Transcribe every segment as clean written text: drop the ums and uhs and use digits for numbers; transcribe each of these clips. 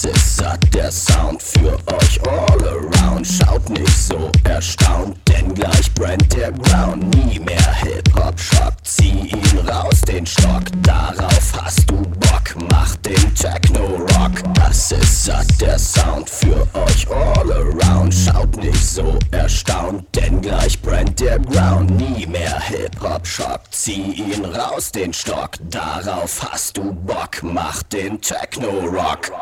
Das ist satt, der Sound für euch all around. Schaut nicht so erstaunt, denn gleich brennt der Ground. Nie mehr Hip-Hop-Schock, zieh ihn raus, den Stock. Darauf hast du Bock, mach den Techno-Rock. Das ist satt, der Sound für euch all around. Schaut nicht so erstaunt, denn gleich brennt der Ground. Nie mehr Hip-Hop-Schock, zieh ihn raus, den Stock. Darauf hast du Bock, mach den Techno-Rock.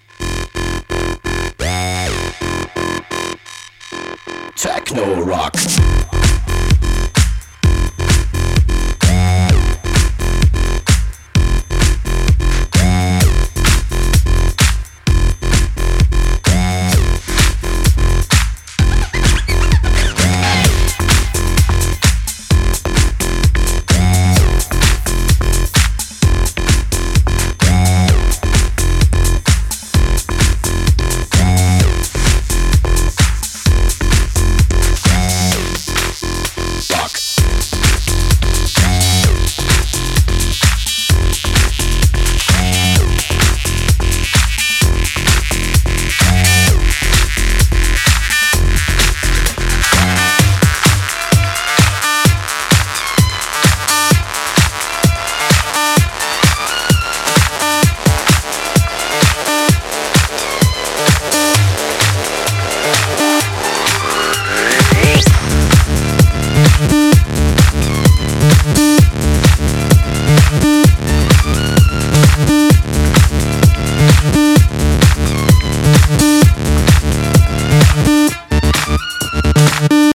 Techno-Rock.